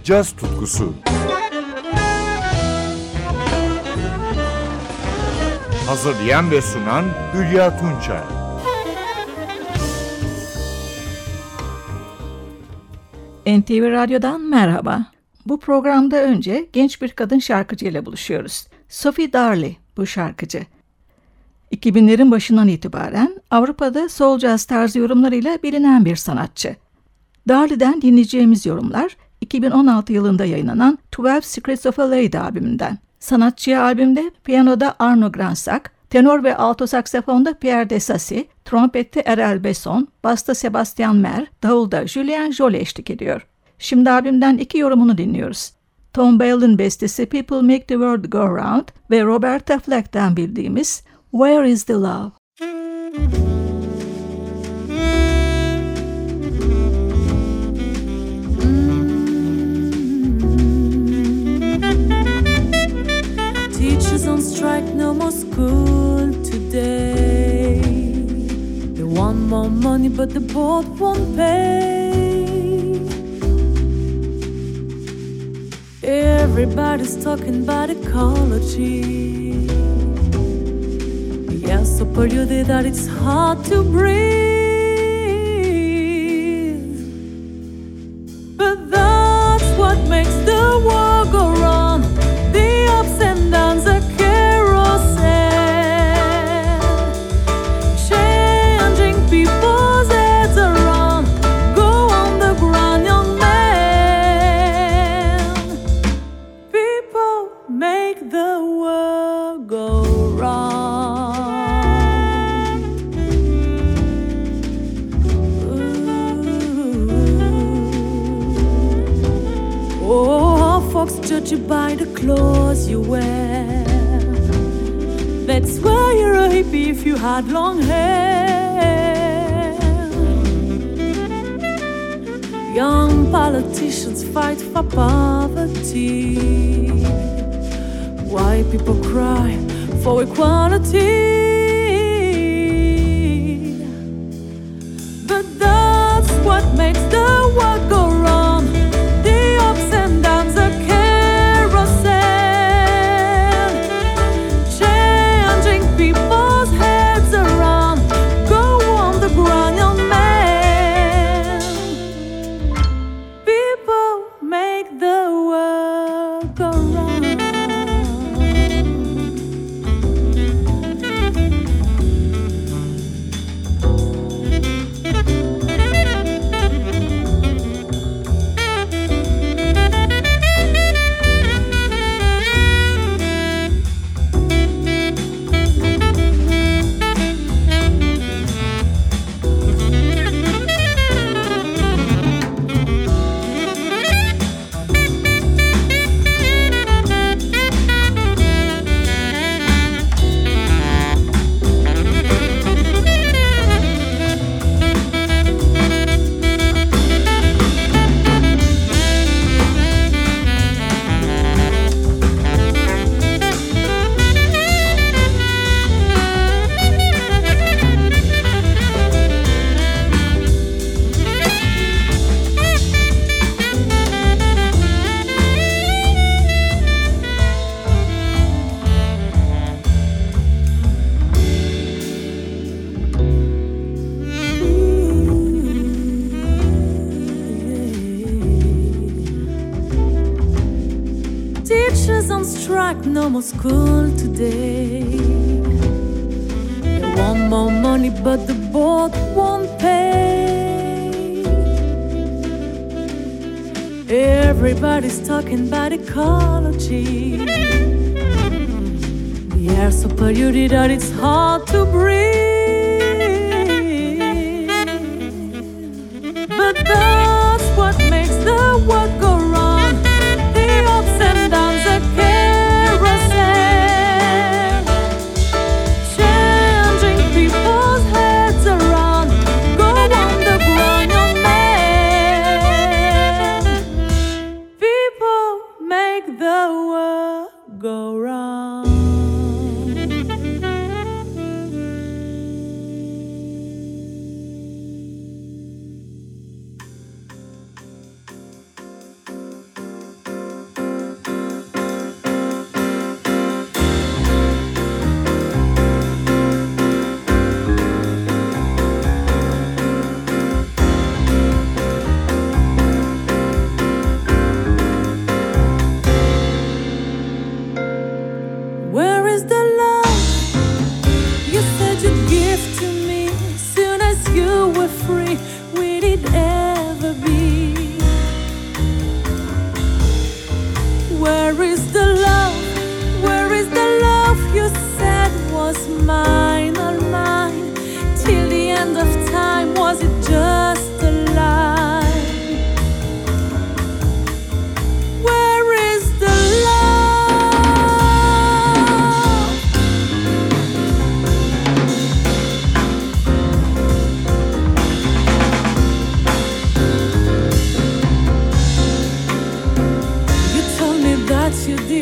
caz tutkusu. Hazırlayan ve sunan Hülya Tunçay. NTV Radyo'dan merhaba. Bu programda önce genç bir kadın şarkıcı ile buluşuyoruz. Sophie Darley bu şarkıcı. 2000'lerin başından itibaren Avrupa'da soul jazz tarzı yorumlarıyla bilinen bir sanatçı. Darley'den dinleyeceğimiz yorumlar 2016 yılında yayınlanan 12 Secrets of a Lady albümünden. Sanatçıya albümde piyanoda Arno Gransak, tenor ve alto saksafonda Pierre Desassy, trompette Erel Besson, basta Sebastian Mer, davulda Julien Joly eşlik ediyor. Şimdi albümden 2 yorumunu dinliyoruz. Tom Bell'in bestesi People Make the World Go Round ve Roberta Flack'ten bildiğimiz Where is the Love? Teachers on strike, no more school today. They want more money but the board won't pay. Everybody's talking about ecology. The air's so polluted that it's hard to breathe. But that's what makes the world go round. The ups and downs are carousel, changing people's heads around. Go on the ground, young man. People make the world go round. Oh, folks judge you by the clothes you wear. That's why you're a hippie if you had long hair. Young politicians fight for poverty. Why people cry for equality. But that's what makes the world go round. The ups and downs are carousel, changing people's heads around. Go on the ground, young man. People make the world go round. Teachers on strike, no more school today. They want more money but the board won't pay. Everybody's talking about ecology. The air's so polluted that it's hard to breathe. But that's what makes the world go round. The ups and downs are carousel, changing people's heads around. Go on the ground, young man. People make the world go round.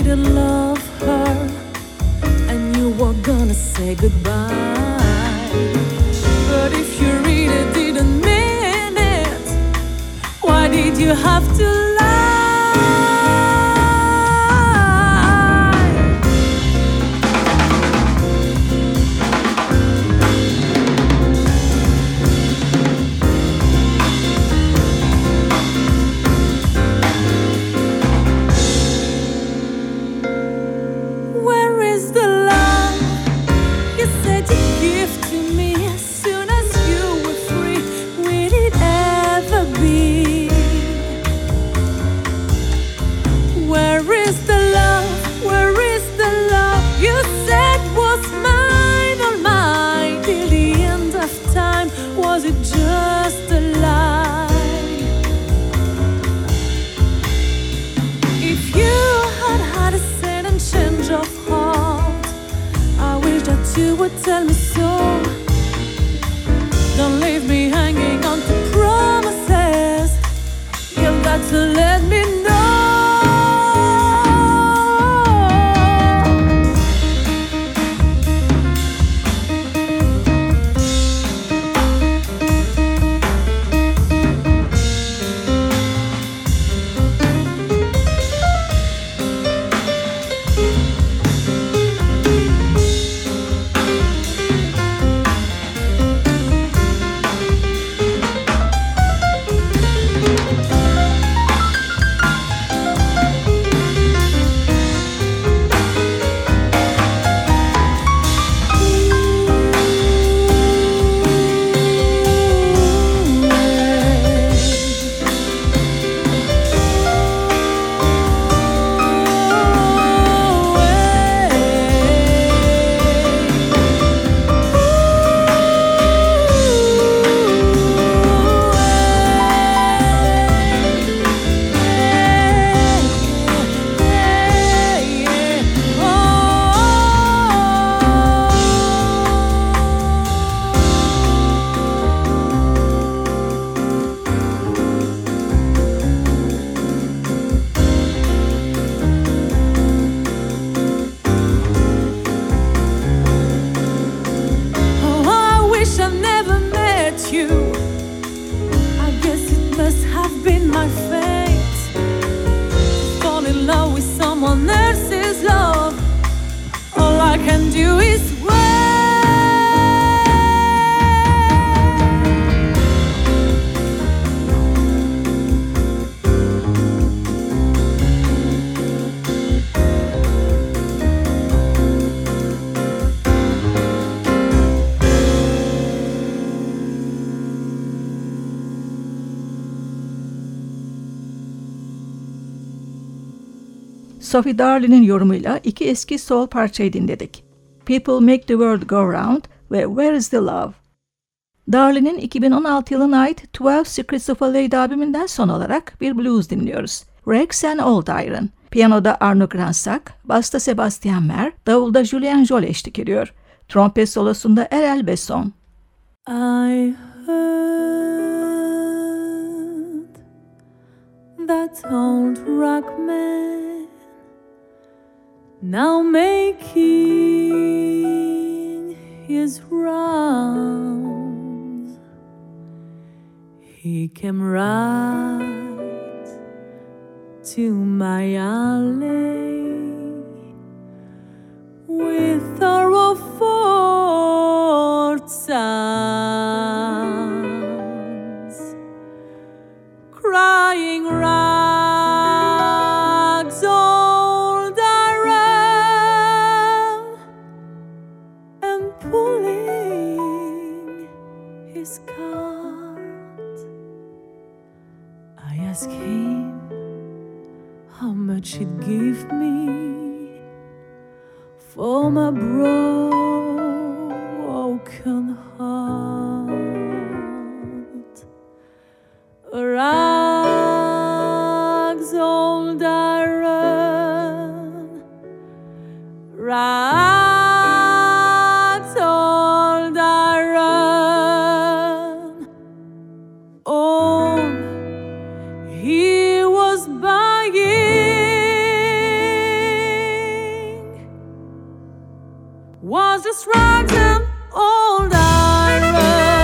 didn't love her and you were gonna say goodbye. But if you really didn't mean it, why did you have to lie? You would tell me so. Don't leave me hanging on to promises. You've got to let me know. Sophie Darle'nin yorumuyla iki eski soul parçayı dinledik. People Make the World Go Round ve Where is the Love? Darle'nin 2016 yılına ait 12 Secrets of a Lady albümünden son olarak bir blues dinliyoruz. Rex and Old Iron. Piyanoda Arno Gransak, basta Sebastian Mer, davulda Julien Jol eşlik ediyor. Trompet solosunda Erel Besson. I heard that old rock man now making his rounds. He came right to my alley with a Rofort sounds, crying rags old Iron and pulling his cart. I asked him how much he'd give me for my broken heart. Rags old Iron, rags old Iron. Oh, he was buying just rags and old iron.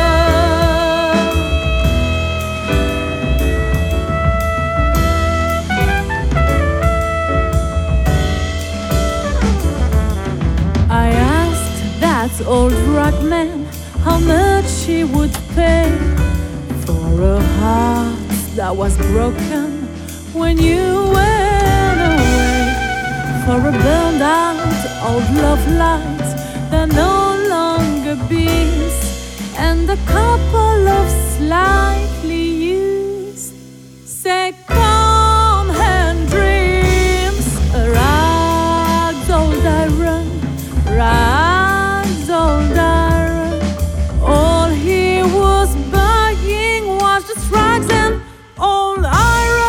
I asked that old rag man how much he would pay for a heart that was broken when you went away, for a burned out old love light that no longer beams, and a couple of slightly used second-hand dreams. Rags old iron, rags old iron. All he was buying was just rags and old iron.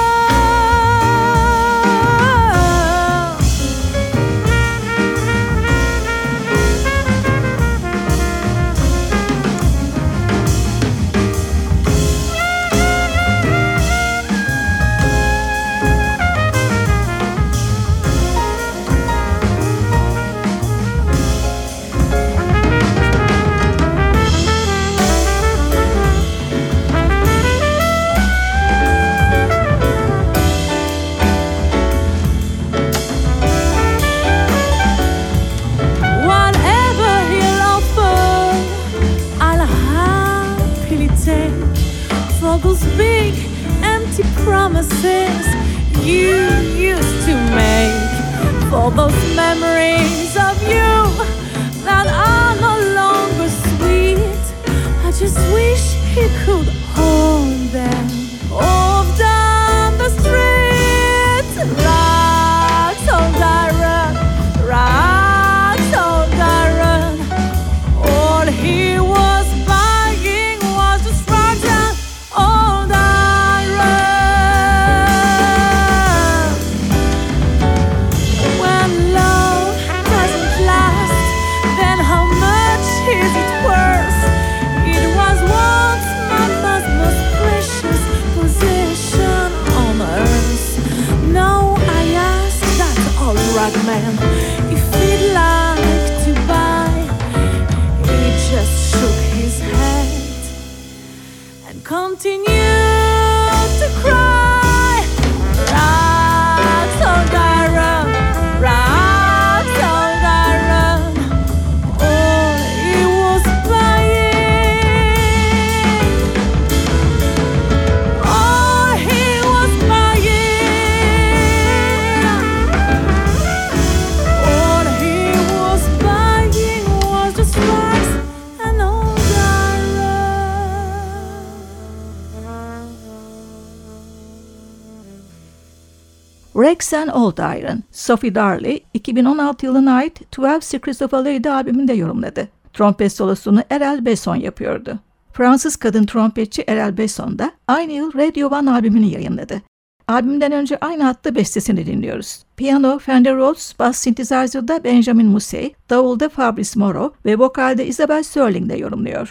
Those big empty promises you used to make, for those memories of you that are no longer sweet. I just wish he could hold them off down the street. Rags old iron, rags old iron. All he was buying was just rags and old iron. When love doesn't last, then how much is it worth? It was once my most precious possession on earth. Now I ask that old rag man if he'd like to buy. He just shook his head and continued to cry. Rags old iron, rags old iron. All he was buying, all he was buying, all he was buying was just rags and old iron. Rags and Old Iron, Sophie Darley 2016 yılına ait 12 Secrets of a Lady albümünde yorumladı. Trompet solosunu Erel Besson yapıyordu. Fransız kadın trompetçi Erel Besson da aynı yıl Radio One albümünü yayınladı. Albümden önce aynı hatta bestesini dinliyoruz. Piyano Fender Rhodes, bas synthesizer'da Benjamin Mussey, davulda Fabrice Moreau ve vokalde Isabel Sterling de yorumluyor.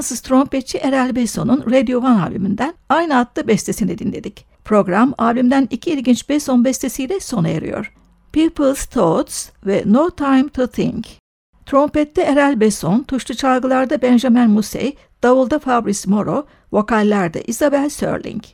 Fransız trompetçi Erel Besson'un Radio One albümünden aynı adlı bestesini dinledik. Program albümden 2 ilginç Besson bestesiyle sona eriyor. People's Thoughts ve No Time to Think. Trompette Erel Besson, tuşlu çalgılarda Benjamin Musset, davulda Fabrice Moreau, vokallerde Isabel Serling.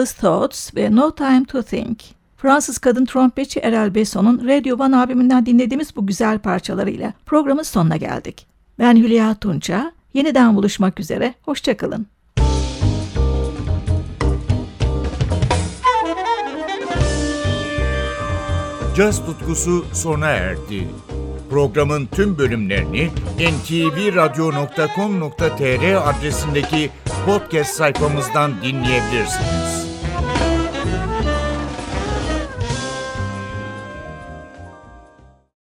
Endless Thoughts ve No Time to Think. Fransız kadın trompetçi Erel Besson'un Radio One albümünden dinlediğimiz bu güzel parçalarıyla programın sonuna geldik. Ben Hülya Tunça. Yeniden buluşmak üzere. Hoşça kalın. Caz tutkusu sona erdi. Programın tüm bölümlerini ntvradio.com.tr adresindeki podcast sayfamızdan dinleyebilirsiniz.